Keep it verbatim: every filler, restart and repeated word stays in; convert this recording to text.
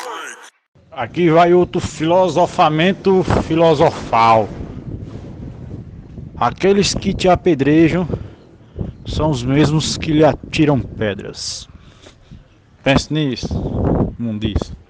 Aqui vai outro filosofamento filosofal. Aqueles que te apedrejam são os mesmos que lhe atiram pedras. Pense nisso, mundiço.